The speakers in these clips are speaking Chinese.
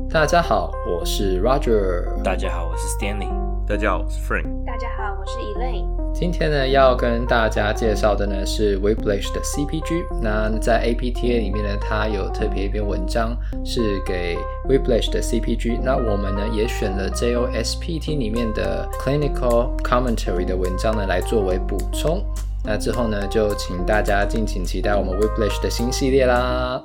大家好，我是 Roger。 大家好，我是 Stanley。 大家好，我是 Frank。 大家好，我是 Elaine。 今天呢，要跟大家介绍的呢是 Whiplash 的 CPG。那在 APTA 里面呢，它有特别一篇文章是给 Whiplash 的 CPG。那我们呢也选了 JOSPT 里面的 Clinical Commentary 的文章呢来作为补充。那之后呢，就请大家敬请期待我们 Whiplash 的新系列啦。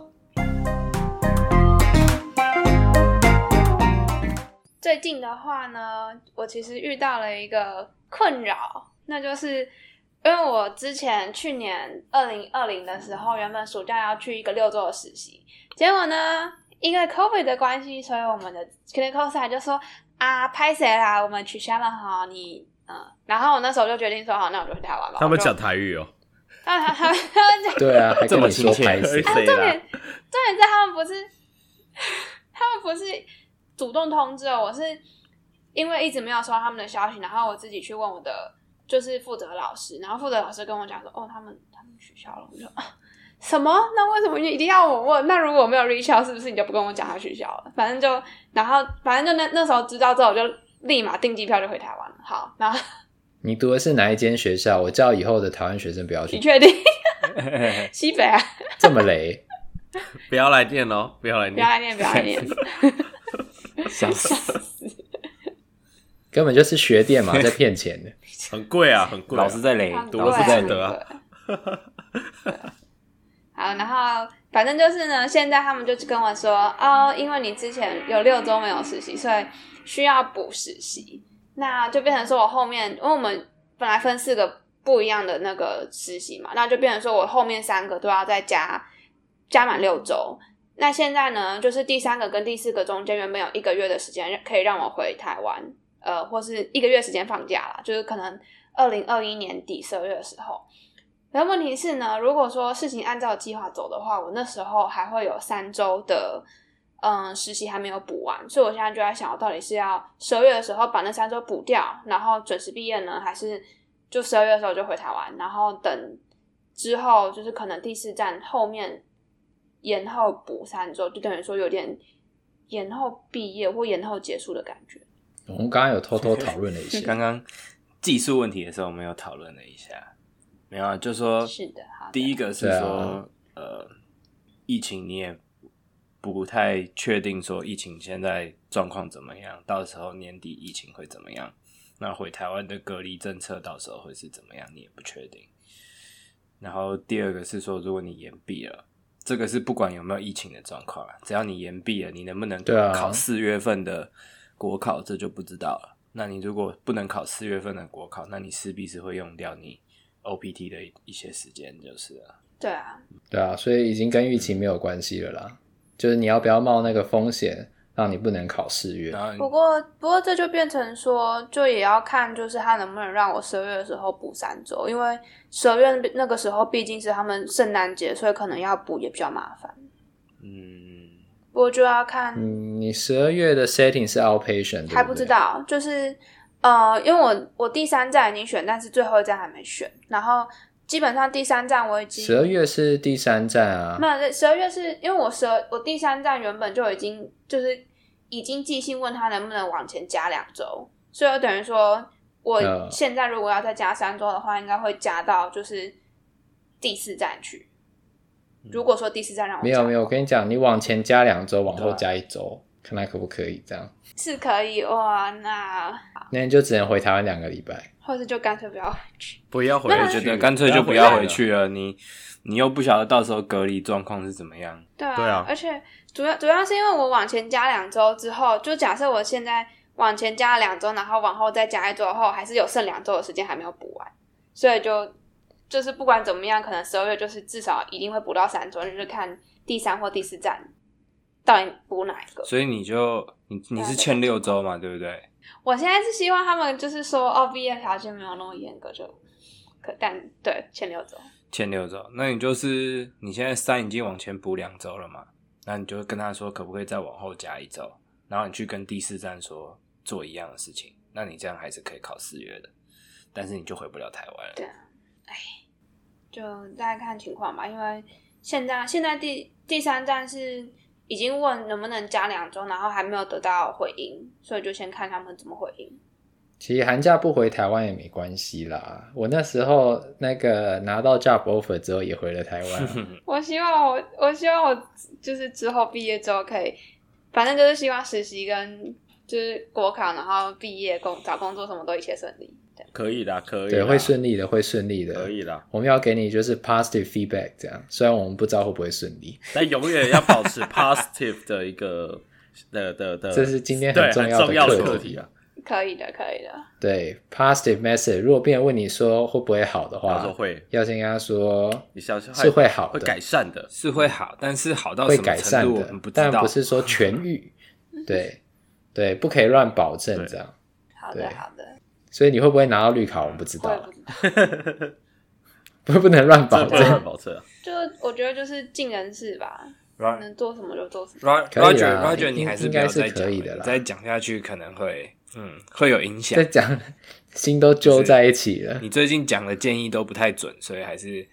最近的话呢，我其实遇到了一个困扰，那就是因为我之前去年2020的时候，原本暑假要去一个6周的实习，结果呢，因为 COVID 的关系，所以我们的 clinical site 就说啊，拍谁啦，我们取消了哈，然后我那时候就决定说好，那我就回台湾吧。 他们讲台语哦。 他们讲对啊，还跟你说拍谁？ 重点是他们不是主动通知我，是因为一直没有收到他们的消息，然后我自己去问我的就是负责老师，然后负责老师跟我讲说，哦，他们取消了。我就什么？那为什么一定要我问？那如果我没有 reach out， 是不是你就不跟我讲他取消了？反正就那时候知道之后，我就立马订机票就回台湾了。好，然后你读的是哪一间学校？我叫以后的台湾学生不要去。 你确定？西北啊？ 这么雷？ 不要来念哦，不要来念。 笑死！ 根本就是学店嘛，在骗钱的。 很贵啊，很贵、啊。 老师在雷， 老师在得啊。 好，然后反正就是呢，现在他们就跟我说，哦，因为你之前有6周没有实习，所以需要补实习。那就变成说我后面，因为我们本来分4个不一样的那个实习嘛，那就变成说我后面3个都要再加满6周。那现在呢，就是第3个跟第4个中间原本有1个月的时间可以让我回台湾，或是1个月时间放假啦，就是可能2021年底12月的时候。然后问题是呢，如果说事情按照计划走的话，我那时候还会有3周的实习还没有补完，所以我现在就在想，我到底是要12月的时候把那3周补掉，然后准时毕业呢，还是就12月的时候就回台湾，然后等之后就是可能第4站后面延后补3周，就等于说有点延后毕业或延后结束的感觉。 我们刚刚有偷偷讨论了一下， 刚刚技术问题的时候，我们有讨论了一下，没有啊？就说是的，好的。 第一个是说，疫情你也不太确定说疫情现在状况怎么样，到时候年底疫情会怎么样？那回台湾的隔离政策到时候会是怎么样，你也不确定。然后第二个是说，如果你延毕了。这个是不管有没有疫情的状况，只要你延毕了，你能不能考4月份的国考，这就不知道了。那你如果不能考4月份的国考，那你势必是会用掉你 OPT 的一些时间，就是了。 对啊， 所以已经跟疫情没有关系了啦。就是你要不要冒那个风险，让你不能考4月。 不过这就变成说，就也要看，就是他能不能让我12月的时候补3周，因为12月那个时候毕竟是他们圣诞节，所以可能要补也比较麻烦。不过就要看。 你12月的 setting 是 outpatient， 还不知道，就是因为我第3站已经选，但是最后一站还没选，然后基本上第3站我已经 12月是第3站啊。 没有，12月是因为我第3站原本就已经寄信问他能不能往前加2周，所以我等于说我现在如果要再加3周的话，应该会加到就是第4站去。如果说第4站让我加， 没有，我跟你讲，你往前加2周，往后加1周，看看可不可以这样。 是可以哇，那你就只能回台湾2个礼拜， 或是就干脆不要回去。 不要回去， 我觉得干脆就不要回去了。你又不晓得到时候隔离状况是怎么样。 对啊，而且主要是因为我往前加2周之后，就假设我现在往前加了2周，然后往后再加1周后，还是有剩2周的时间还没有补完，所以就是不管怎么样，可能12月就是至少一定会补到3周，就是看第3或第4站到底补哪一个。 所以你是欠6周嘛，对不对？ 我现在是希望他们就是说毕业条件没有那么严格但对欠6周。 欠6周，那你现在3已经往前补2周了嘛？那你就跟他说可不可以再往后加1周，然后你去跟第4站说做一样的事情，那你这样还是可以考4月的，但是你就回不了台湾了。 对啊，就大概看情况吧，因为现在第3站是已经问能不能加2周，然后还没有得到回应，所以就先看他们怎么回应。 其实寒假不回台湾也没关系啦，我那时候那个拿到 job offer 之后也回了台湾我希望我就是之后毕业之后可以，反正就是希望实习跟就是国考，然后毕业找工作什么都一切顺利。 可以的，可以的， 对，会顺利的，会顺利的， 可以的。 我们要给你就是 positive feedback， 这样，虽然我们不知道会不会顺利， 但永远要保持 positive 的一个这是今天很重要的课题啊。 可以的。 对 positive message， 如果别人问你说会不会好的话， 说会， 要先跟他说你相信是会好的， 会改善的， 是会好，但是好到会什么改善的， 程度我们不知道， 但不是说痊愈。对，不可以乱保证这样。 好的。 所以你会不会拿到绿卡，我们不知道。 我也不知道不能乱保证。 就我觉得就是尽人事吧。能做什么就做什么。 Roger， 你还是不要再可以的啦， 再讲下去可能会有影响。 再讲心都揪在一起了。 你最近讲的建议都不太准，所以还是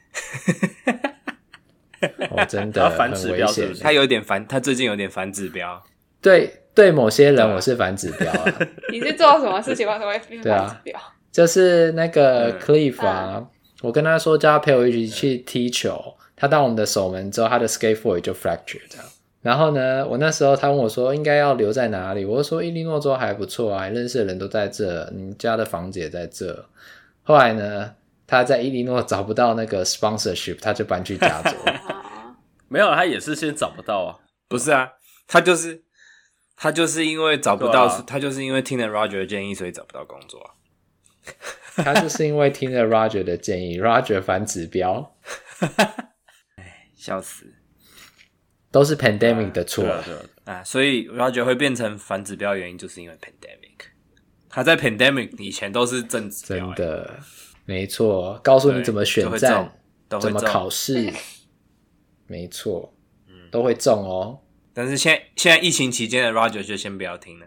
真的很危险。 他最近有点反指标。 对某些人我是反指标啊。 你是做什么事情为什么会变反指标？ 就是那个 Cliff 啊，我跟他说叫他陪我一起去踢球。他到我们的守门之后，他的 skateboard 就 fracture 这样。然后呢，我那时候他问我说应该要留在哪里，我就说伊利诺州还不错啊，认识的人都在这，你家的房子也在这。后来呢，他在伊利诺找不到那个 sponsorship， 他就搬去加州。 没有，他也是先找不到啊。 不是啊，他就是因为找不到，他就是因为听了 Roger 的建议，所以找不到工作啊。 他就是因为听了 Roger 的建议 ，Roger 反指标。 笑死， 都是 pandemic 的错所以 Roger 会变成反指标的原因就是因为 pandemic。他在 pandemic 以前都是正指标， 真的没错，告诉你怎么选战，怎么考试，没错，都会中哦。 但是现在疫情期间的 Roger 就先不要听了。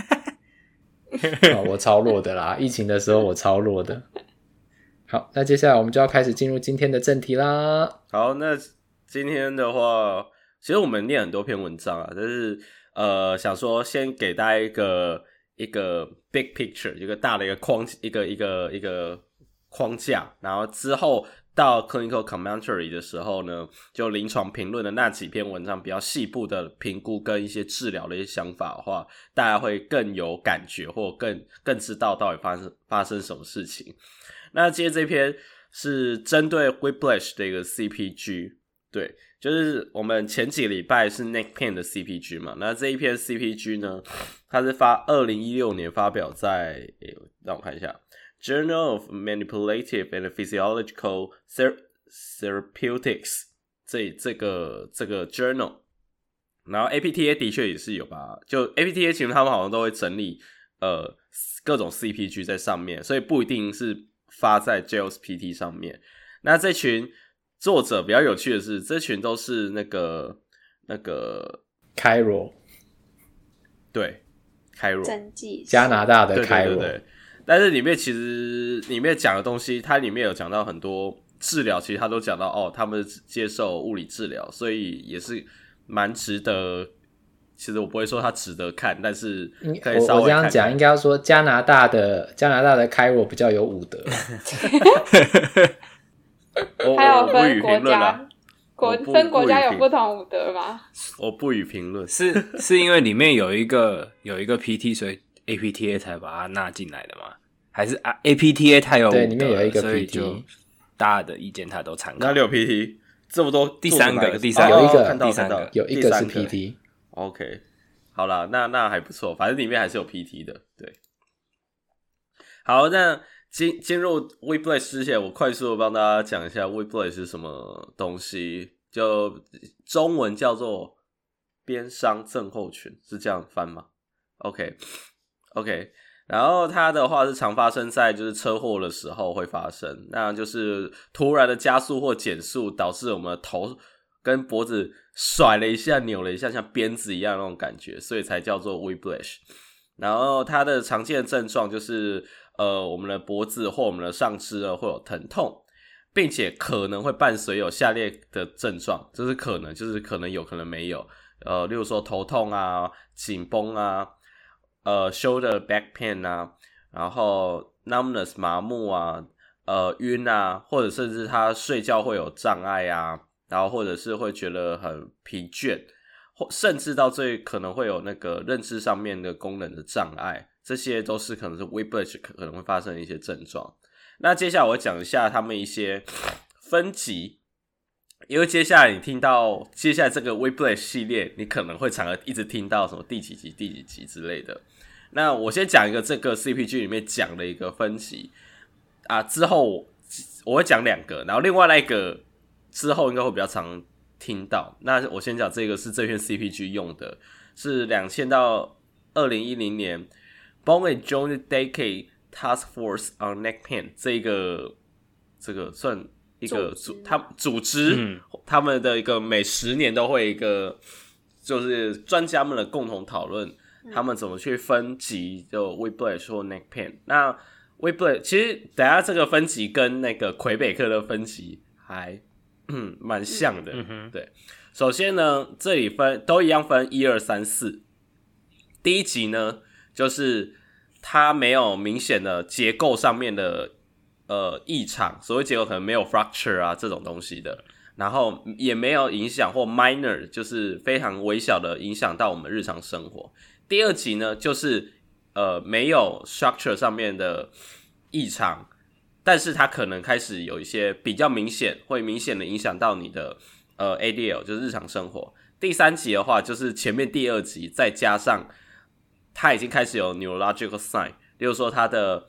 我超弱的啦，疫情的时候我超弱的。好，那接下来我们就要开始进入今天的正题啦。 好，那今天的话，其实我们念很多篇文章啊，但是想说先给大家一个 big picture， 一个大的一个框架，然后之后到 clinical commentary 的时候呢，就临床评论的那几篇文章比较细部的评估跟一些治疗的一些想法的话，大家会更有感觉，或更知道到底发生什么事情。那今天这篇是针对 Whiplash 的一个 CPG， 对，就是我们前几个礼拜是 neck pain 的 CPG 嘛，那这一篇 CPG 呢，它是2016年发表在让我看一下 Journal of Manipulative and Physiological Therapeutics 这个 journal， 然后 APTA 的确也是有吧，就 APTA 其实他们好像都会整理各种 CPG 在上面，所以不一定是发在 JLSPT 上面。那这群作者比较有趣的是，这群都是那个 Cairo， 对 Cairo 加拿大的 Cairo， 对。但是里面讲的东西，它里面有讲到很多治疗，其实他都讲到他们接受物理治疗，所以也是蛮值得。其实我不会说它值得看，但是可以稍微看看。我这样讲应该要说加拿大的Cairo比较有武德。 还有分国家，分国家有不同武德吗？ 我不予评论。 是因为里面有一个 PT， 所以 APTA 才把它纳进来的吗？还是APTA 它有武德， 对，里面有一个 PT， 所以就大家的意见它都参考。 哪里有 PT？ 这么多， 第三个， 有一个是 PT。 OK， 好啦，那还不错，反正里面还是有 PT 的，对。好，那进入 Whiplash 之前，我快速的帮大家讲一下 Whiplash 是什么东西，就中文叫做鞭伤症候群，是这样翻吗 ？OK， 然后它的话是常发生在就是车祸的时候会发生，那就是突然的加速或减速，导致我们的头跟脖子甩了一下、扭了一下，像鞭子一样那种感觉，所以才叫做 Whiplash。然后它的常见的症状就是我们的脖子或我们的上肢会有疼痛，并且可能会伴随有下列的症状，就是可能有可能没有， 例如说头痛啊、紧绷啊、shoulder back pain 啊，然后 numbness 麻木啊、晕啊，或者甚至他睡觉会有障碍啊，然后或者是会觉得很疲倦，甚至到最可能会有那个认知上面的功能的障碍，这些都是可能是 Whiplash 可能会发生的一些症状。那接下来我会讲一下他们一些分级，因为接下来你听到接下来这个 Whiplash 系列，你可能会常一直听到什么第几集、第几集之类的。那我先讲一个这个 CPG 里面讲的一个分级啊，之后我会讲2个，然后另外那一个之后应该会比较常听到。那我先讲这个是这篇 CPG 用的，是2000到2010年 Bone and Joint Decade Task Force on Neck Pain 这个算一个组织他们的一个每10年都会一个就是专家们的共同讨论，他们怎么去分级就 Whiplash 或 Neck Pain。那 Whiplash 其实等一下这个分级跟那个魁北克的分级还蛮像的。对，首先呢这里都一样分1、2、3、4。第一级呢就是它没有明显的结构上面的异常，所谓结构可能没有 fracture 啊这种东西的，然后也没有影响或 minor 就是非常微小的影响到我们日常生活。第二级呢就是没有 structure 上面的异常，但是它可能开始有一些比较明显，会明显的影响到你的ADL 就是日常生活。第三级的话就是前面第2级再加上它已经开始有 neurological sign， 例如说它的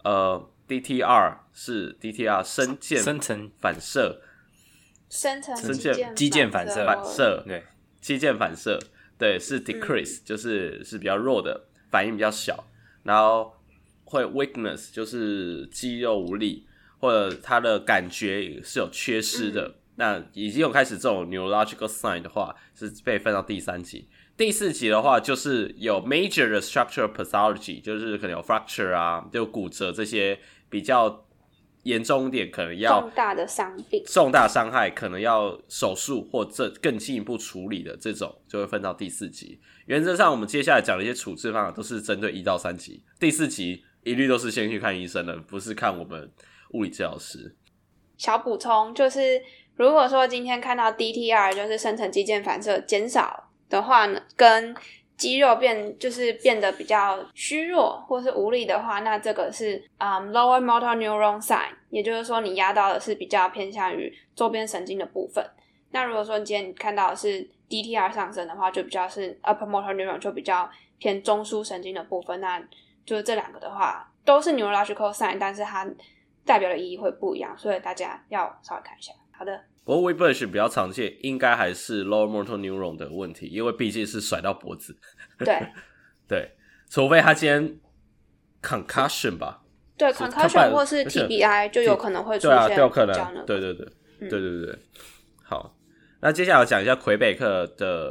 DTR 是 DTR 深层反射， 深层肌腱反射， 对，肌腱反射，对，是 decrease，就是比较弱的，反应比较小，然后会 weakness 就是肌肉无力，或者他的感觉是有缺失的，那已经有开始这种 neurological sign 的话，是被分到第3级。第4级的话就是有 major 的 structural pathology， 就是可能有 fracture 啊，就骨折这些比较严重一点，可能要重大的伤病、 重大伤害，可能要手术或者更进一步处理的这种，就会分到第4级。原则上我们接下来讲的一些处置方法都是针对1到3级，第4级一律都是先去看医生的，不是看我们物理治疗师。 小补充就是，如果说今天看到 DTR 就是深层肌腱反射减少的话呢，跟肌肉变得比较虚弱或是无力的话，那这个是lower motor neuron sign， 也就是说你压到的是比较偏向于周边神经的部分。那如果说你今天看到的是 DTR 上升的话，就比较是 upper motor neuron， 就比较偏中枢神经的部分。那就是这2个的话都是 neurological sign， 但是它代表的意义会不一样，所以大家要稍微看一下。好的， 不过 Whiplash 比较常见应该还是 lower motor neuron 的问题，因为毕竟是甩到脖子。 对对，除非他今天 concussion 吧， 对 concussion 或是 TBI 就有可能会出现， 对啊，有可能，对。好，那接下来我讲一下魁北克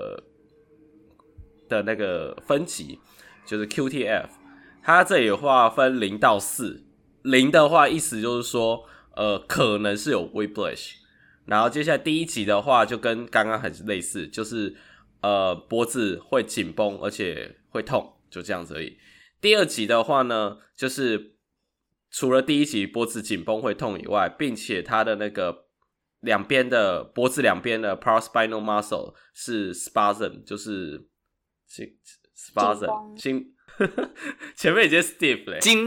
的那个分级，就是 QTF， 它这里的话分0到4， 0的话意思就是说可能是有 Whiplash， 然后接下来第1级的话就跟刚刚很类似，就是脖子会紧绷而且会痛，就这样子而已。第2级的话呢，就是除了第1级脖子紧绷会痛以外，并且它的那个脖子两边的 paraspinal muscle 是 spasm， 就是spasm 前面已经 stiff 了，痉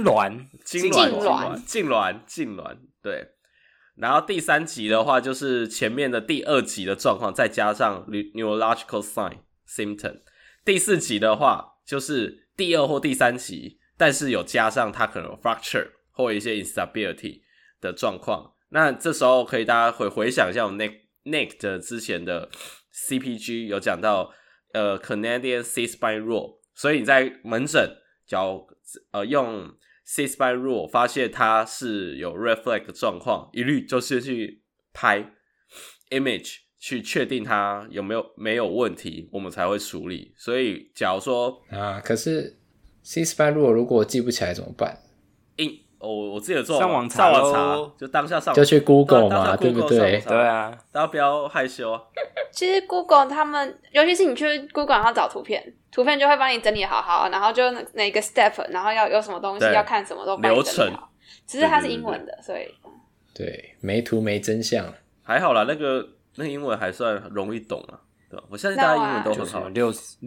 挛，对。然后第3级的话就是前面的第2级的状况再加上 neurological sign symptom。第4级的话就是第2或第3级，但是有加上它可能有 fracture 或一些 instability 的状况。那这时候可以大家回想一下我们 Nick 的之前的 CPG 有讲到Canadian C-spine rule， 所以你在门诊用 C-spine rule 发现它是有 reflex 的状况，一律就是去拍 image 去确定它没有问题，我们才会处理。所以假如说可是 C-spine rule 如果记不起来怎么办？ 我自己有做上网查咯， 就当下上就去 Google 当下嘛，对不 Google 对？ 上对啊， 大家不要害羞啊。 其实 Google 他们，尤其是你去 Google 然后找图片，图片就会帮你整理好好，然后就哪个 step， 然后要有什么东西对要看什么都帮你整理好。只是它是英文的，所以对，没图没真相。 还好啦，那个英文还算容易懂啊。对吧？我相信大家英文都很好。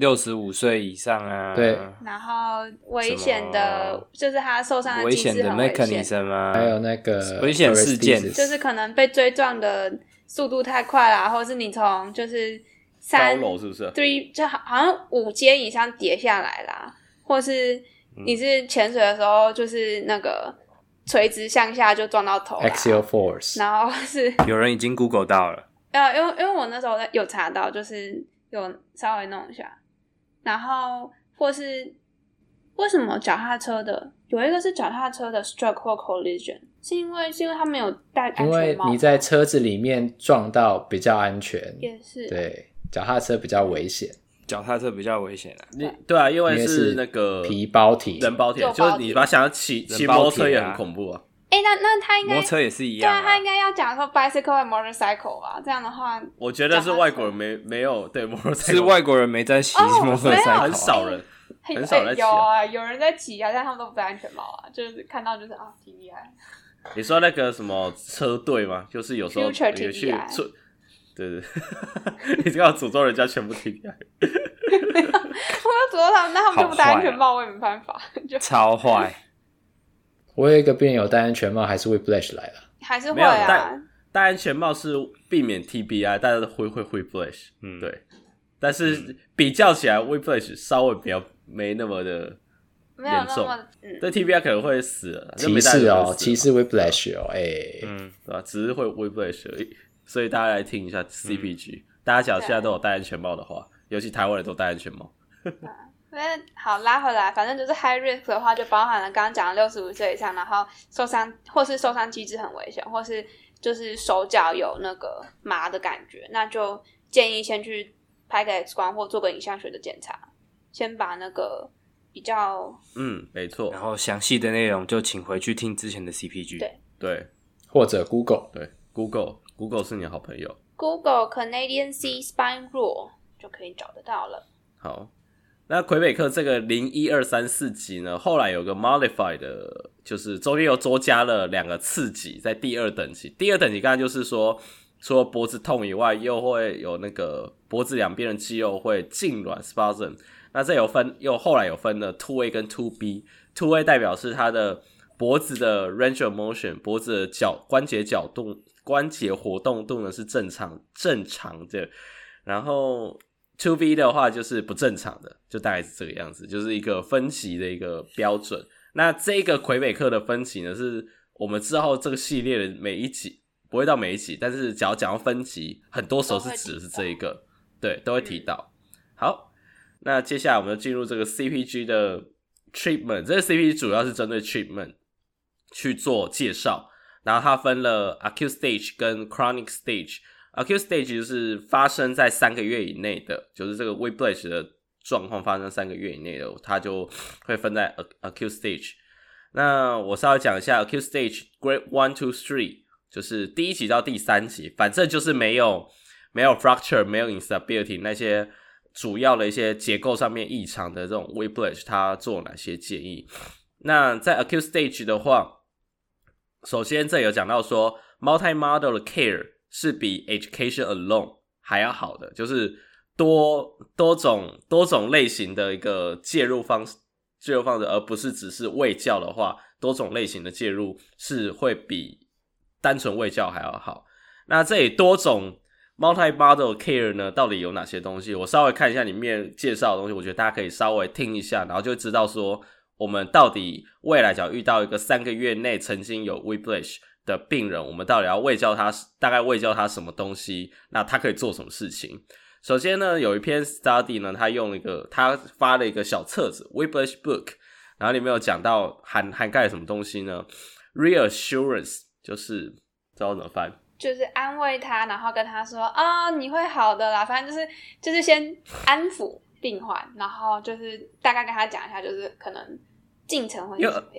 65岁以上啊， 对， 然后危险的，就是他受伤的危险的机制很危险， mechanism 啊， 还有那个危险事件 Aristides 就是可能被追撞的速度太快啦，或者是你从就是高 3 楼是不是？ 3就好像5阶以上跌下来啦，或是你是潜水的时候就是那个垂直向下就撞到头啦 Axial Force， 然后是有人已经 Google 到了， 因为我那时候有查到，就是有稍微弄一下，然后或是为什么脚踏车的有一个是脚踏车的 stroke 或 collision， 是因为他没有戴安因为全帽， 你在车子里面撞到比较安全， 也是对，脚踏车比较危险， 脚踏车比较危险啊， 对啊，因为因为是那个皮包体， 人包铁， 肉包铁就是你把它想要骑摩托车也很恐怖啊。 那他应该摩托车也是一对啊， 样啊， 他应该要讲说 bicycle 和 motorcycle 吧，这样的话我觉得是外国人没有对摩托车是外国人没在骑摩托车， 很少人很少在骑有啊。 有人在骑啊，但他们都不戴安全帽啊，就是看到就是啊挺厉害。 你说那个什么车队吗？就是有时候 Future 你去 TBI 对，你这样诅咒人家全部 TBI。 我要诅咒他们，那他们就不戴安全帽，我也没办法，就超坏。 我有一个病人有戴安全帽，还是 Whiplash 来了。 还是会没有啊。 戴安全帽是避免 TBI，但是会 Whiplash，对。但是比较起来，Whiplash 稍微比较没那么的没有严重那么对 TBI 可能会死了， 歧视哦，歧视 Whiplash 哦， 对吧？只是会 Whiplash 而已。所以大家来听一下 CPG，大家假如现在都有戴安全帽的话，尤其台湾人都戴安全帽。 好，拉回来，反正就是 high risk 的话，就包含了刚刚讲的65岁以上，然后受伤或是受伤机制很危险，或是就是手脚有那个麻的感觉，那就建议先去拍个 X 光或做个影像学的检查，先把那个比较没错。 然后详细的内容就请回去听之前的 CPG。 对， 或者 Google， 对 Google 是你的好朋友。 Google Canadian Sea Spine Rule 就可以找得到了。 好。那魁北克这个01234级呢，后来有个 modified 的，就是中间又多加了2个次级，在第2等级。第2等级刚才就是说，除了脖子痛以外，又会有那个脖子两边的肌肉会痉挛 spasm。那这后来有分了 2A 跟 2B。2A 代表是它的脖子的 range of motion， 脖子的关节活动度呢是正常的，然后2B 的话就是不正常的，就大概是这个样子，就是一个分级的一个标准。那这个魁北克的分级呢，是我们之后这个系列的每一集，不会到每一集，但是只要讲到分级，很多时候是指的是这一个，对，都会提到。好，那接下来我们就进入这个 CPG 的 treatment， 这个 CPG 主要是针对 treatment 去做介绍，然后它分了 acute stage 跟 chronic stage。acute stage 就是发生在3个月以内的，就是这个 Whiplash 的状况发生3个月以内的，它就会分在 acute stage。那我稍微讲一下 acute stage grade 1 to 3， 就是第1级到第3级，反正就是没有 fracture， 没有 instability， 那些主要的一些结构上面异常的这种 Whiplash， 它做哪些建议？那在 acute stage 的话，首先这有讲到说 multi-modal care 是比 education alone 还要好的，就是多种类型的一个介入方式，而不是只是卫教的话，多种类型的介入是会比单纯卫教还要好。那这里多种 multi-modal care 呢，到底有哪些东西？我稍微看一下里面介绍的东西，我觉得大家可以稍微听一下，然后就知道说我们到底未来只要遇到一个3个月内曾经有 Whiplash 的病人，我们到底要大概卫教他什么东西，那他可以做什么事情。首先呢，有一篇 study 呢，他发了一个小册子 Whiplash book， 然后里面有讲到涵盖了什么东西呢？ reassurance 就是知道怎么翻， 就是安慰他，然后跟他说你会好的啦，反正就是先安抚病患，然后就是大概跟他讲一下，就是可能进程会是什么样子。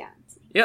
因为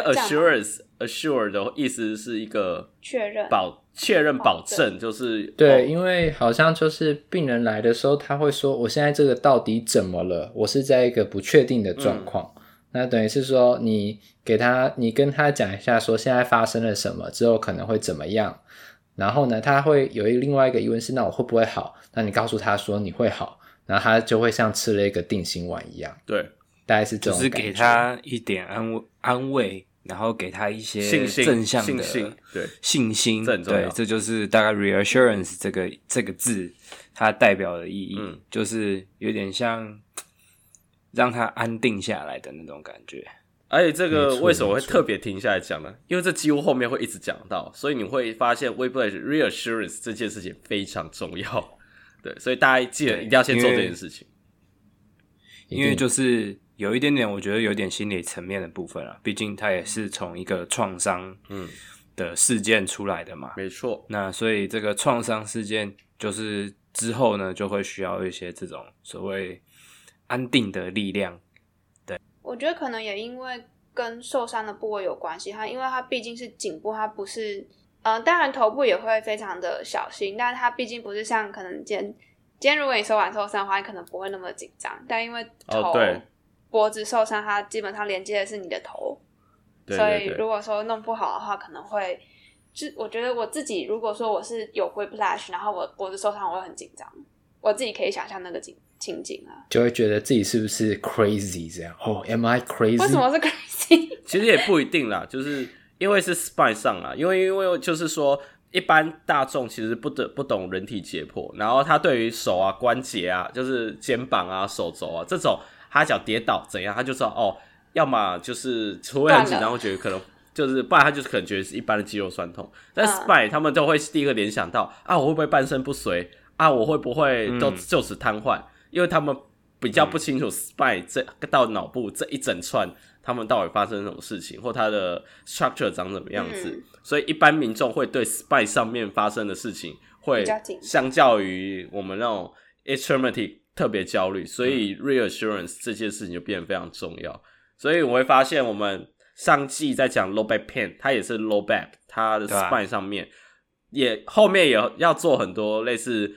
assure 的意思是一个确认保证，就是对，因为好像就是病人来的时候，他会说我现在这个到底怎么了？我是在一个不确定的状况。那等于是说你跟他讲一下说现在发生了什么，之后可能会怎么样。然后呢，他会有另外一个疑问是，那我会不会好？那你告诉他说你会好，然后他就会像吃了一个定心丸一样。 对， 大概是这种感觉， 就是给他一点安慰，然后给他一些正向的信心，对，这就是大概 reassurance 这个字它代表的意义，就是有点像让他安定下来的那种感觉。 而且这个为什么会特别停下来讲呢？因为这几乎后面会一直讲到，所以你会发现 Whiplash reassurance 这件事情非常重要。对，所以大家记得一定要先做这件事情。 因为就是有一点点，我觉得有点心理层面的部分啊，毕竟它也是从一个创伤的事件出来的嘛。 没错。 那所以这个创伤事件就是之后呢，就会需要一些这种所谓安定的力量。 我觉得可能也因为跟受伤的部位有关系，因为它毕竟是颈部，它不是当然头部也会非常的小心，但是它毕竟不是像可能今天如果你手腕受伤的话，你可能不会那么紧张，但因为脖子受伤，它基本上连接的是你的头， 对， 所以如果说弄不好的话，可能会我觉得我自己如果说我是有 whiplash， 然后我脖子受伤，我会很紧张，我自己可以想象那个情景啊， 就会觉得自己是不是 crazy 这样am I crazy？ 为什么是 crazy？ 其实也不一定啦，就是因为是 spine 上啦，因为就是说一般大众其实不懂人体解剖，然后他对于手啊关节啊，就是肩膀啊手肘啊这种，他脚跌倒怎样，他就知道要么就是除非很紧张，会觉得可能就是不然他就是可能觉得是一般的肌肉酸痛，但 spine 他们都会第一个联想到我会不会半身不遂啊，我会不会都就此瘫痪。因为他们比较不清楚 spine 到脑部这一整串他们到底发生什么事情，或它的 structure 长什么样子，所以一般民众会对 spine 上面发生的事情会相较于我们那种 extremity 特别焦虑，所以 reassurance 这件事情就变得非常重要。所以我会发现我们上季在讲 low back pain， 它也是 low back， 它的 spine 上面后面也要做很多类似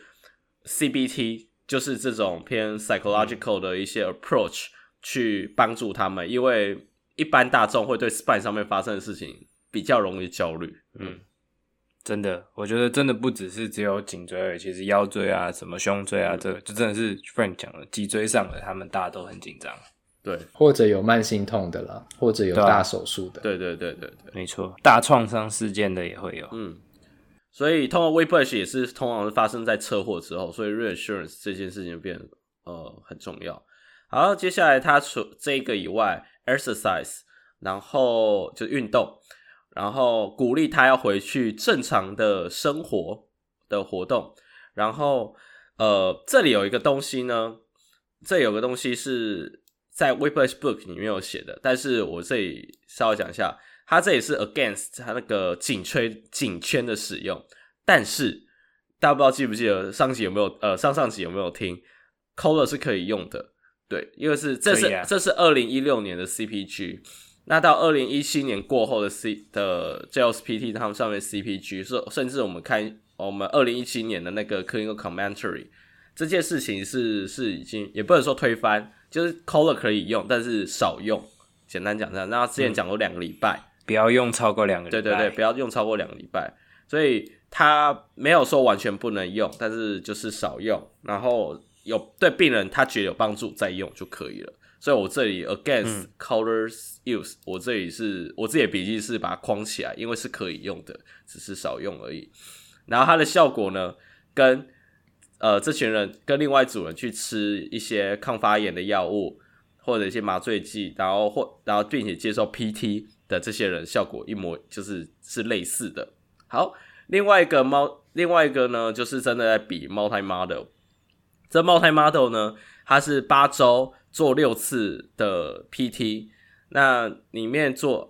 CBT，就是这种偏 psychological 的一些 approach 去帮助他们，因为一般大众会对 spine 上面发生的事情比较容易焦虑。 真的，我觉得真的不只有颈椎而已，其实腰椎啊、什么胸椎啊，这个就真的是 Frank 讲的，脊椎上的他们大家都很紧张。对， 或者有慢性痛的啦，或者有大手术的。 对， 没错，大创伤事件的也会有。 所以通常 whiplash 也是通常是发生在车祸之后，所以 reassurance 这件事情就变得很重要。好，接下来他除这个以外 exercise， 然后就运动，然后鼓励他要回去正常的生活的活动。然后这里有一个东西呢，这有个东西是在 whiplash book 里面有写的，但是我这里稍微讲一下。他这也是 against 他那个颈圈的使用，但是大家不知道记不记得上集有没有上集有没有听 Kohler 是可以用的，对，因为这是2016年的 CPG， 那到2017年过后的 JLPT 他们上面 CPG， 甚至我们看我们2017年的那个 Clinical Commentary， 这件事情是已经也不能说推翻，就是 Kohler 可以用，但是少用，简单讲这样。那之前讲过2个礼拜。 不要用超过2个礼拜。 对，不要用超过2个礼拜。所以他没有说完全不能用，但是就是少用，然后有对病人他觉得有帮助再用就可以了。所以我这里 against Kohler's use， 我自己的笔记是把它框起来，因为是可以用的，只是少用而已。然后它的效果呢，跟这群人跟另外一组人去吃一些抗发炎的药物或者一些麻醉剂，然后并且接受 PT。的这些人效果是类似的。好，另外一个呢，就是真的在比 multi model。这 multi model 呢，它是8周做6次的 PT。那里面做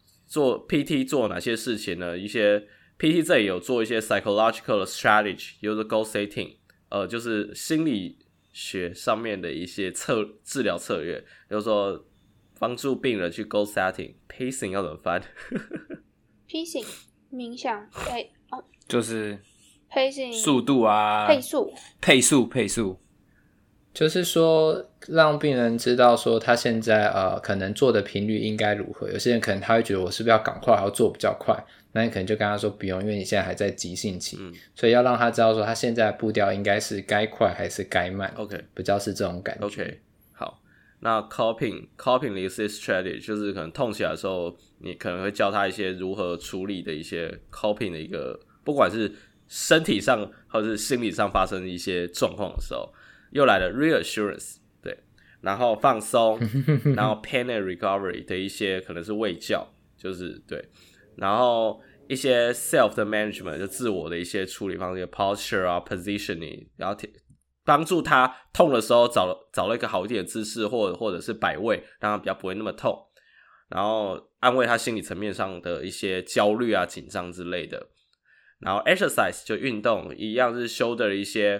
PT 做哪些事情呢？一些 PT 这里有做一些 psychological 的 strategy， 有的 goal setting， 就是心理学上面的一些治疗策略，比如说帮助病人去 goal setting。pacing 要怎么翻 ？pacing 冥想， 就是 pacing 速度啊，配速， 就是说让病人知道说他现在可能做的频率应该如何。有些人可能他会觉得我是不是要赶快要做比较快，那你可能就跟他说不用，因为你现在还在急性期，所以要让他知道说他现在的步调应该是该快还是该慢。 OK， 比较是这种感觉。 OK， 好，那 coping resist strategy 就是可能痛起来的时候，你可能会教他一些如何处理的一些 coping 的一个，不管是身体上或是心理上发生的一些状况的时候，又来了 reassurance， 对，然后放松，然后 pain and recovery 的一些可能是卫教，就是对，然后一些 self 的 management 就自我的一些处理方式 posture 啊 positioning， 然后帮助他痛的时候找了一个好一点的姿势，或者是摆位，让他比较不会那么痛，然后安慰他心理层面上的一些焦虑啊紧张之类的。然后 exercise 就运动一样是 shoulder 一些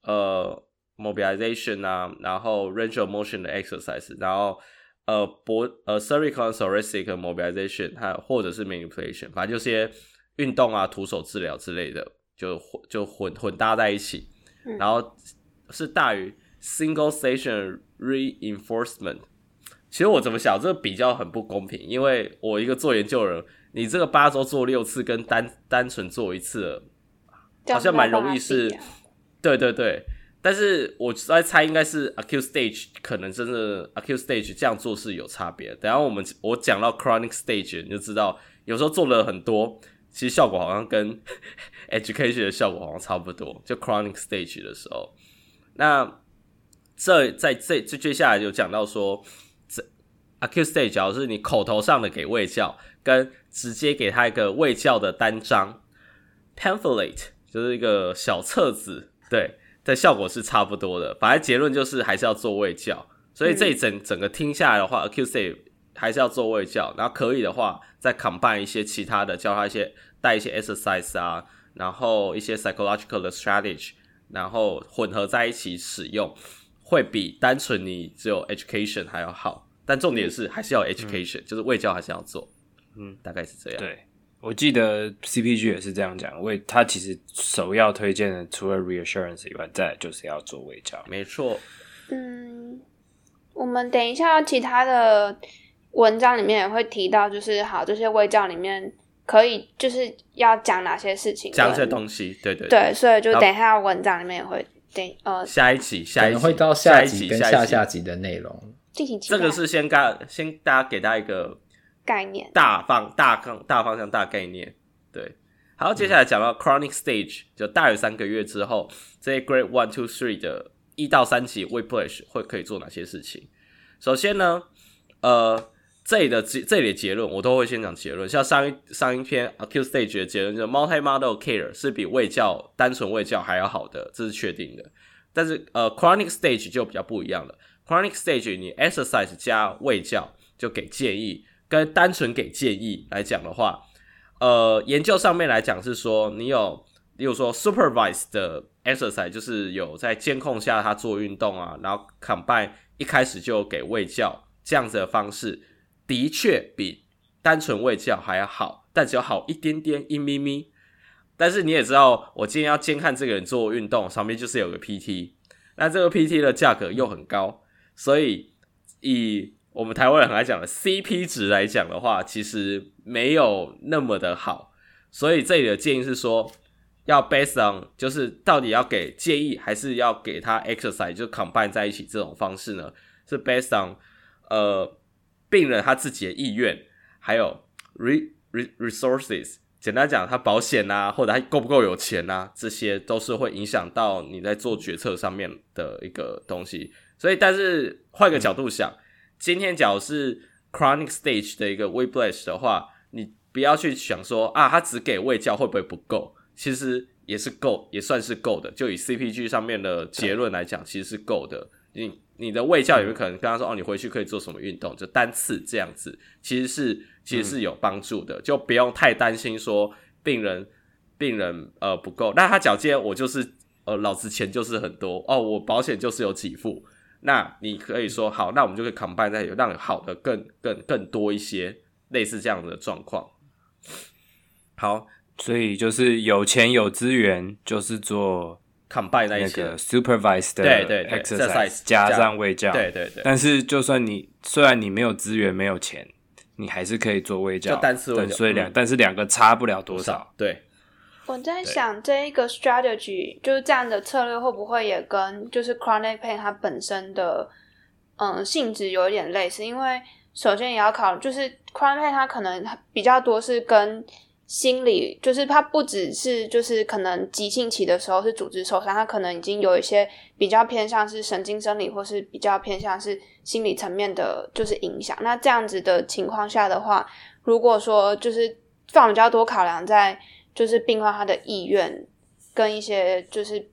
mobilization 啊，然后 range of motion 的 exercise， 然后cervical and thoracic mobilization 或者是 manipulation， 反正就些运动啊徒手治疗之类的就混搭在一起，然后是大于 single station reinforcement。 其实我怎么想这个比较很不公平，因为我一个做研究的人，你这个8周做6次跟单纯做1次好像蛮容易是，对对对，但是我在猜应该是 acute stage， 可能真的 acute stage 这样做是有差别的。等一下我讲到 chronic stage 你就知道，有时候做了很多，其实效果好像跟education 的效果好像差不多，就 chronic stage 的时候。那这接下来就讲到说acute stage 假如是你口头上的给卫教，跟直接给他一个卫教的单张 pamphlet 就是一个小册子，对，的效果是差不多的。反正结论就是还是要做卫教，所以这整个听下来的话acute stage 还是要做卫教，然后可以的话再 combine 一些其他的，教他带一些 exercise 啊，然后一些 psychological 的 strategy， 然后混合在一起使用，会比单纯你只有 education 还要好。但重点是还是要 education，就是卫教还是要做，大概是这样。 对，我记得 CPG 也是这样讲，他其实首要推荐的除了 reassurance 以外，再来就是要做卫教。 没错。 我们等一下其他的文章里面也会提到，就是好这些卫教里面可以就是要讲哪些事情， 讲这些东西，对对对，所以就等一下文章里面也会下一集可能会到下集跟下集的内容。 这个是先给大家一个概念， 大方向大概念。对，好，接下来讲到 chronic stage， 就大约3个月之后，这些 grade 1, 2, 3的1到3级 whiplash 可以做哪些事情。首先呢这里的结论我都会先讲结论，像上一篇 acute stage 的结论就是 multi-modal care 是比单纯卫教还要好的，这是确定的。但是chronic stage 就比较不一样了。chronic stage 你 exercise 加卫教就给建议，跟单纯给建议来讲的话，研究上面来讲是说你有例如说 supervised 的 exercise 就是有在监控下他做运动啊，然后 combine 一开始就给卫教，这样子的方式的确比单纯卫教还要好，但只有好一点点一咪咪。但是你也知道我今天要监看这个人做运动，上面就是有个 PT， 那这个 PT 的价格又很高，所以以我们台湾人很爱讲的 CP 值来讲的话，其实没有那么的好。所以这里的建议是说要 based on 就是到底要给建议还是要给他 exercise 就 combine 在一起，这种方式呢是 based on 病人他自己的意愿，还有 resources， 简单讲他保险啊，或者他够不够有钱啊，这些都是会影响到你在做决策上面的一个东西。所以但是换个角度想，今天假如是 chronic stage 的一个 whiplash 的话，你不要去想说他只给卫教会不会不够，其实也是够，也算是够的。就以 CPG 上面的结论来讲，其实是够的。你的卫教有没有可能跟他说你回去可以做什么运动，就单次这样子，其实是有帮助的，就不用太担心说病人不够。那他讲今天我就是老子钱就是很多我保险就是有给付， 那你可以说好，那我们就可以 combine 在让好的更多一些，类似这样的状况。好， 所以就是有钱有资源，就是做 combine 在一起那个 supervised 的对 exercise 加上卫教， 对， 但是就算虽然你没有资源没有钱，你还是可以做卫教， 就单次卫教， 所以但是两个差不了多少。 对， 我在想这一个 strategy 就是这样的策略会不会也跟就是 chronic pain 它本身的性质有一点类似，因为首先也要考就是 chronic pain 它可能比较多是跟心理，就是它不只是就是可能急性期的时候是组织受伤，它可能已经有一些比较偏向是神经生理或是比较偏向是心理层面的就是影响。那这样子的情况下的话，如果说就是放比较多考量在就是病患他的意愿跟一些就是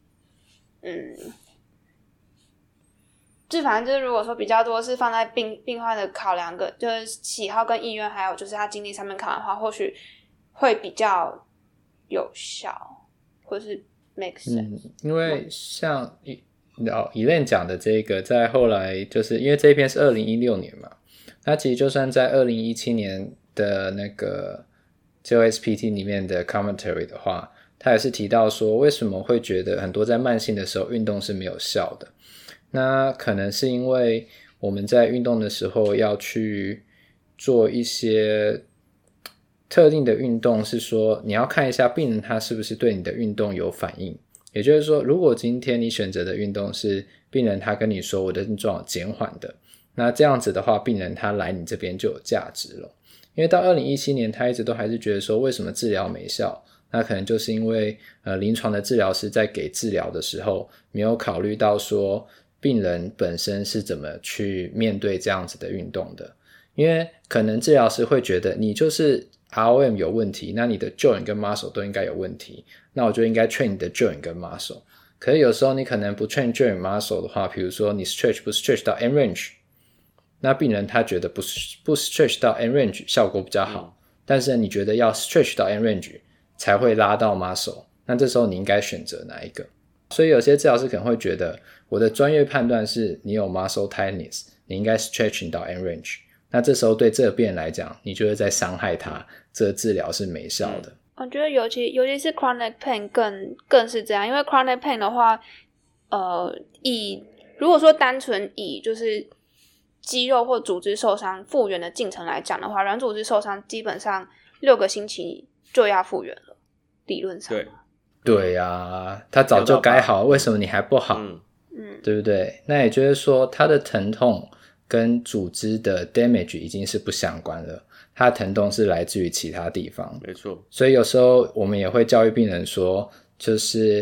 就反正就是如果说比较多是放在病患的考量跟就是喜好跟意愿还有就是他精力上面考量的话，或许会比较有效或是 make sense。 因为像Elaine 讲的这个在后来就是因为这一篇是2016年嘛，那其实就算在2017年的那个 JOSPT 里面的 commentary 的话，他也是提到说为什么会觉得很多在慢性的时候运动是没有效的。那可能是因为我们在运动的时候要去做一些特定的运动，是说你要看一下病人他是不是对你的运动有反应。也就是说，如果今天你选择的运动是病人他跟你说我的症状减缓的，那这样子的话病人他来你这边就有价值了。因为到2017年他一直都还是觉得说为什么治疗没效，那可能就是因为临床的治疗师在给治疗的时候没有考虑到说病人本身是怎么去面对这样子的运动的。因为可能治疗师会觉得你就是 ROM 有问题，那你的 joint 跟 muscle 都应该有问题，那我就应该 train 你的 joint 跟 muscle。 可是有时候你可能不 train joint muscle 的话，比如说你 stretch 不 stretch 到 end range， 那病人他觉得不 stretch 到 end range 效果比较好，但是你觉得要 stretch 到 end range 才会拉到 muscle， 那这时候你应该选择哪一个？所以有些治疗师可能会觉得我的专业判断是你有 muscle tightness， 你应该 stretching 到 end range， 那这时候对这个病人来讲你就会在伤害他，这个治疗是没效的。 我觉得尤其是 chronic pain 更是这样，因为 chronic pain 的话如果说单纯以就是肌肉或组织受伤复原的进程来讲的话，软组织受伤基本上6个星期就要复原了，理论上。 对啊，他早就该好，为什么你还不好？对不对？那也就是说他的疼痛跟组织的 damage 已经是不相关了，他的疼痛是来自于其他地方。 没错。 所以有时候我们也会教育病人说，就是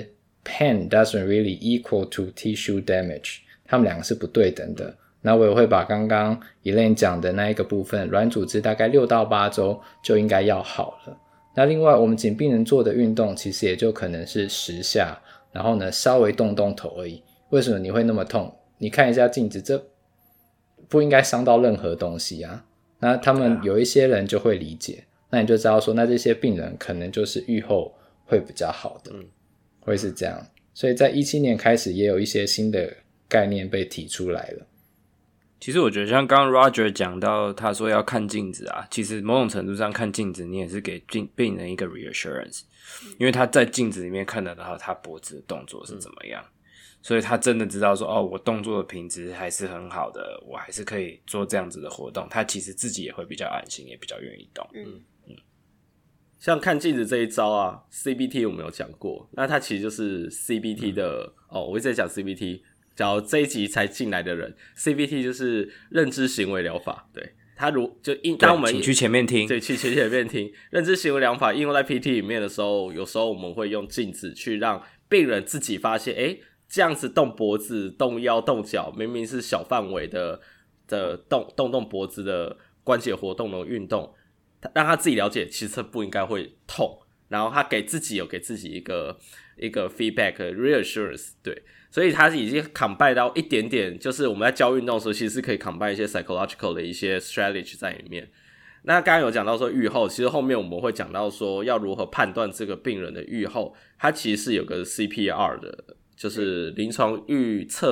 pain doesn't really equal to tissue damage， 他们两个是不对等的。那我也会把刚刚 Elaine 讲的那一个部分，软组织大概6到8周就应该要好了。那另外我们请病人做的运动其实也就可能是10下，然后呢稍微动动头而已。为什么你会那么痛？你看一下镜子，这不应该伤到任何东西啊。那他们有一些人就会理解，那你就知道说那这些病人可能就是预后会比较好的，会是这样。所以在17年开始也有一些新的概念被提出来了。 其实我觉得像刚刚 Roger 讲到他说要看镜子啊，其实某种程度上看镜子你也是给病人一个 reassurance， 因为他在镜子里面看得到他脖子的动作是怎么样，所以他真的知道说我动作的品质还是很好的，我还是可以做这样子的活动，他其实自己也会比较安心，也比较愿意动。 像看镜子这一招啊 CBT 我们有讲过，那它其实就是 CBT 的我一直在讲 CBT，假如这一集才进来的人 ，CBT 就是认知行为疗法。对，它当我们请去前面听， 对，去前面听。认知行为疗法应用在 PT 里面的时候，有时候我们会用镜子去让病人自己发现，这样子动脖子、动腰、动脚，明明是小范围的动脖子的关节活动的运动，让他自己了解，其实不应该会痛。然后他给自己一个 feedback reassurance， 对，所以他已经 combine 到一点点，就是我们在教运动的时候，其实是可以 combine 一些 psychological 的一些 strategy 在里面。那刚刚有讲到说预后，其实后面我们会讲到说要如何判断这个病人的预后，它其实是有个 CPR 的，就是临床预测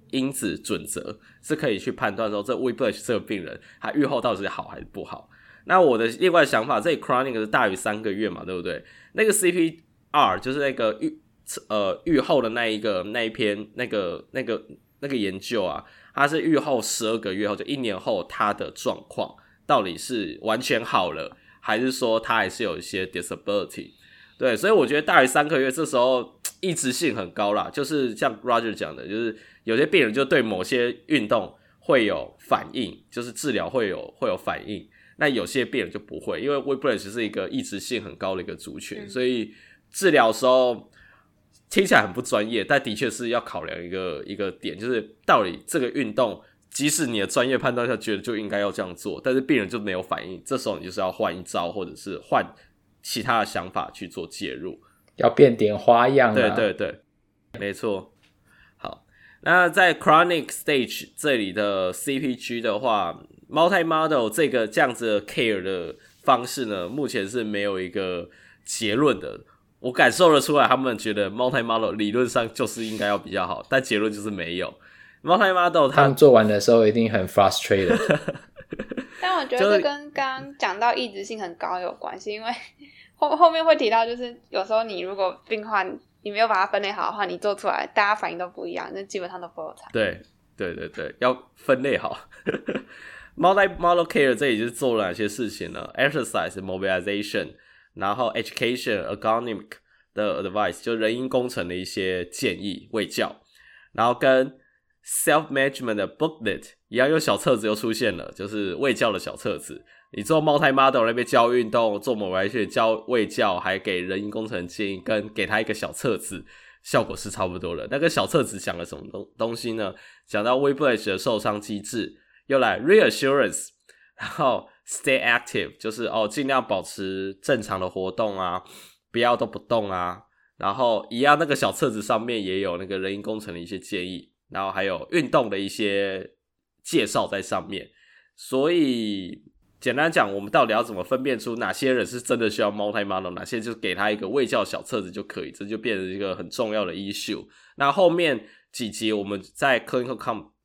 因子准则是可以去判断说这 Whiplash 这个病人他预后到底是好还是不好。那我的另外想法，这里 chronic 是大于3个月嘛，对不对？那个 CPR 就是那个预后的那一篇那个研究啊，它是预后12个月后，就1年后他的状况到底是完全好了，还是说他还是有一些 disability。对，所以我觉得大于3个月这时候抑制性很高啦，就是像 Roger 讲的，就是有些病人就对某些运动会有反应，就是治疗会有反应，那有些病人就不会，因为 Whiplash 是一个抑制性很高的一个族群，所以治疗的时候听起来很不专业，但的确是要考量一个点，就是到底这个运动即使你的专业判断下觉得就应该要这样做，但是病人就没有反应，这时候你就是要换一招，或者是换其他的想法去做介入， 要变点花样啊。 对，没错。好，那在 chronic stage 这里的 CPG 的话， multi-model 这样子的 care 的方式呢，目前是没有一个结论的。我感受得出来，他们觉得 multi-model 理论上就是应该要比较好，但结论就是没有。multi-model 他们做完的时候一定很 frustrated 但我觉得这跟刚刚讲到抑制性很高有关系，因为后面会提到，就是有时候你如果病患你没有把它分类好的话，你做出来大家反应都不一样，那基本上都不会有差。 对，要分类好。multi-model care 这里就是做了哪些事情呢？ exercise mobilization， 然后 education ergonomic 的 advice 就人因工程的一些建议卫教，然后跟 self-management 的 booklet 一样，有小册子又出现了，就是卫教的小册子。你做 multi-model 那边教运动，做mobilization教卫教，还给人因工程建议，跟给他一个小册子，效果是差不多的。那个小册子讲了什么东西呢？讲到 Whiplash 的受伤机制，又来 reassurance， 然后 stay active， 就是尽量保持正常的活动啊，不要都不动啊。然后一样，那个小册子上面也有那个人因工程的一些建议，然后还有运动的一些介绍在上面。所以简单讲，我们到底要怎么分辨出哪些人是真的需要 multi-model， 哪些就给他一个卫教小册子就可以，这就变成一个很重要的 issue。那后面几集我们在 clinical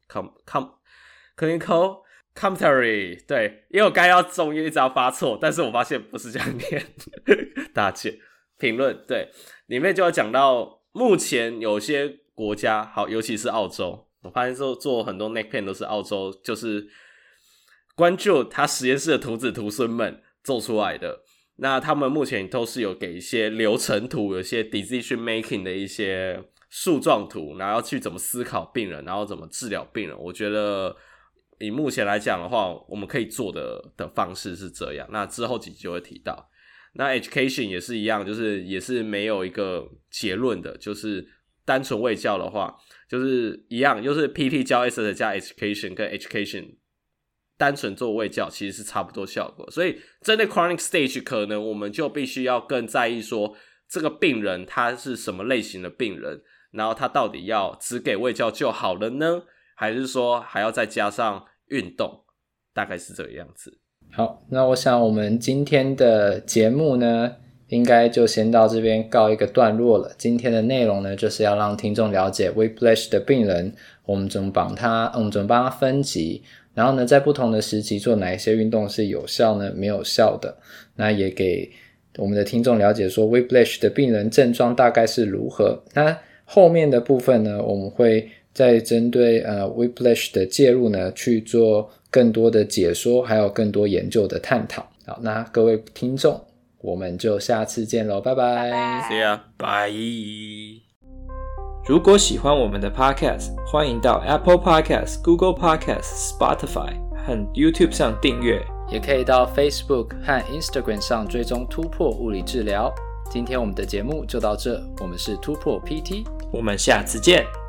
commentary， 对，因为我刚才要中音一直要发错，但是我发现不是这样念，大家见评论，对，里面就要讲到目前有些国家，好，尤其是澳洲，我发现做很多 neck pain 都是澳洲，就是关注他实验室的徒子徒孙们做出来的。那他们目前都是有给一些流程图，有一些 decision making 的一些树状图，然后去怎么思考病人，然后怎么治疗病人。我觉得以目前来讲的话，我们可以做的方式是这样。那之后几集就会提到。那 education 也是一样，就是也是没有一个结论的，就是单纯卫教的话，就是一样，就是 PT 教 exercise 加 education 跟 education。单纯做卫教其实是差不多效果，所以针对 chronic stage 可能我们就必须要更在意说这个病人他是什么类型的病人，然后他到底要只给卫教就好了呢，还是说还要再加上运动，大概是这个样子。 好，那我想我们今天的节目呢应该就先到这边告一个段落了。今天的内容呢就是要让听众了解 Whiplash 的病人，我们怎么帮他分级，然后呢在不同的时期做哪一些运动是有效呢没有效的，那也给我们的听众了解说 Whiplash 的病人症状大概是如何。那后面的部分呢，我们会再针对Whiplash 的介入呢去做更多的解说，还有更多研究的探讨。好，那各位听众我们就下次见咯，拜拜。 See ya， 拜。 如果喜欢我们的 Podcast， 欢迎到 Apple Podcast、Google Podcast、Spotify 和 YouTube 上订阅， 也可以到 Facebook 和 Instagram 上追踪突破物理治疗。今天我们的节目就到这，我们是突破 PT， 我们下次见。